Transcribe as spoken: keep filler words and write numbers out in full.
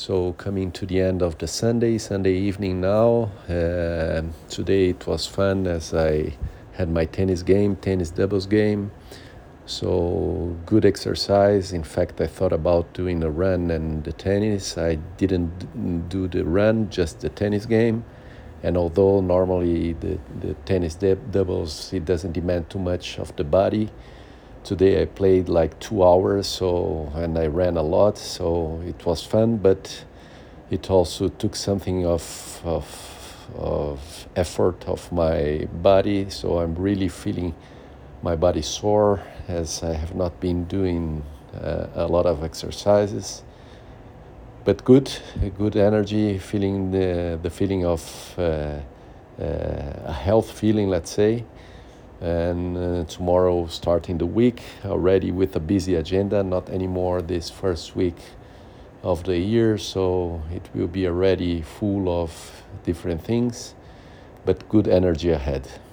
So coming to the end of the Sunday, Sunday evening now. Uh, today it was fun as I had my tennis game, tennis doubles game. So good exercise. In fact, I thought about doing a run and the tennis. I didn't do the run, just the tennis game. And although normally the, the tennis doubles, it doesn't demand too much of the body, today I played like two hours, so and I ran a lot, so it was fun, but it also took something of of, of effort of my body, so I'm really feeling my body sore as I have not been doing uh, a lot of exercises. But good, good energy, feeling the, the feeling of uh, uh, a health feeling, let's say. And uh, tomorrow starting the week already with a busy agenda, not anymore this first week of the year, so it will be already full of different things, but good energy ahead.